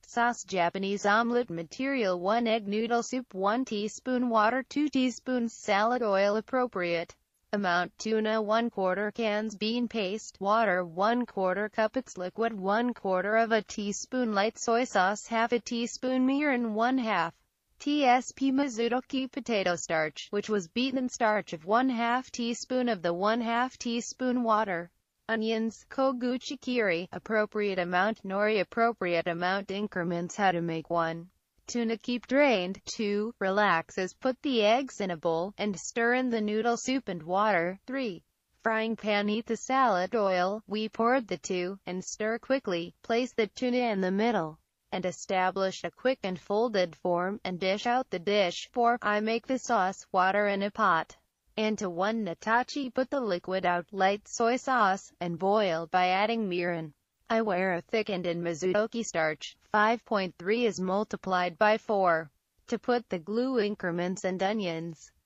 sauce. Japanese omelette material: 1 egg, noodle soup, 1 teaspoon water, 2 teaspoons salad oil appropriate amount, tuna 1/4 cans, bean paste, water 1/4 cup, it's liquid, 1/4 of a teaspoon light soy sauce, half a teaspoon mirin, 1/2 tsp Mazuroki potato starch, which was beaten starch of 1/2 teaspoon of the 1/2 teaspoon water. Onions, koguchi kiri, appropriate amount, nori appropriate amount, increments. How to make: 1. Tuna, keep drained. 2. Relax as put the eggs in a bowl, and stir in the noodle soup and water. 3. Frying pan, heat the salad oil, we poured the 2, and stir quickly. Place the tuna in the middle, and establish a quick and folded form, and dish out the dish. 4. I make the sauce, water in a pot. And to 1 natachi, put the liquid out, light soy sauce, and boil by adding mirin. I wear a thickened in Mazuroki starch. 5.3 is multiplied by 4. To put the glue: increments and onions.